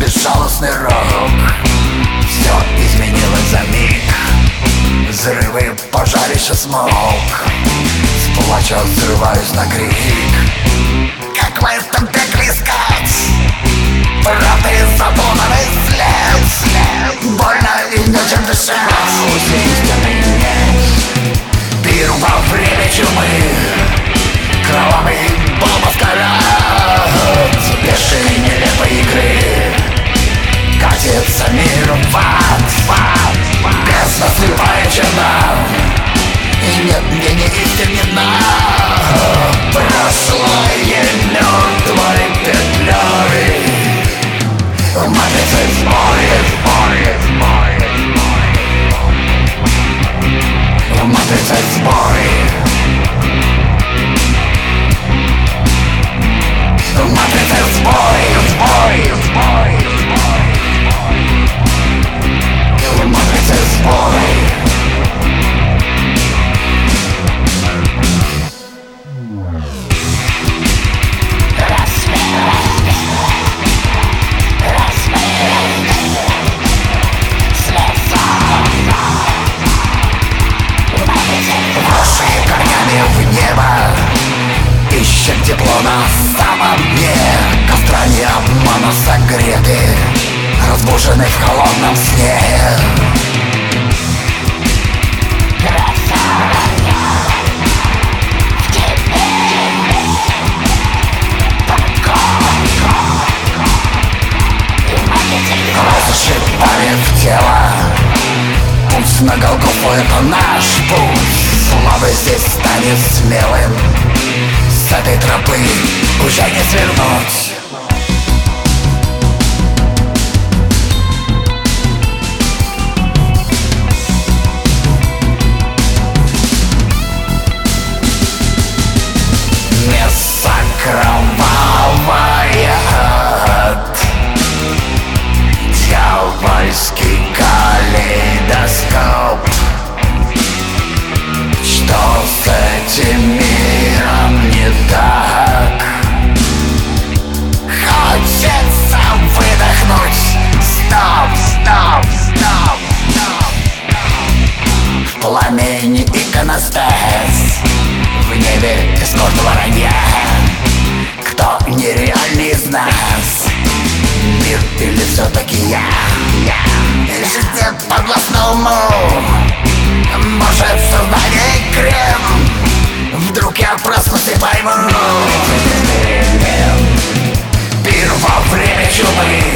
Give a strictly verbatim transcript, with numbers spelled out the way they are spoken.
безжалостный рок. Все изменилось за миг. Взрывы, пожарище, смог. С плача взрываюсь на крик. Как в этом пекле искать правды и запутанный след? Больно и нечем дышать. Пир во время чумы. Кровавый бал маскарад. Бешеной нелепой игры катится мир в ад, в ад, в ад. Бездна слепая черна, и нет мне ни истин, ни дна. Прошлое мертвой петлей. Матрица в сборе, сборе, сборе, сборе. Матрица в сборе. Матрица в сборе, в сборе, в сборе, в сборе. Матрица в сборе. В небо ищем тепло на самом дне. Костра не обмана согреты, разбужены в холодном сне. Зашибали в тело. Путь на Голгофу — это наш путь. Слабый здесь станет смелым. С этой тропы уже не свернуть. Место кровавое, дьявольский калейдоскоп. Что с этим миром не так? Хочется выдохнуть. Стоп, стоп, стоп, стоп. В пламени иконостас, в небе эскорт воронья. Кто нереальный из нас? Мир или все-таки я? Жизнь подвластна уму. Может, создание крем. Вдруг я проснусь и пойму. Пир во время чумы.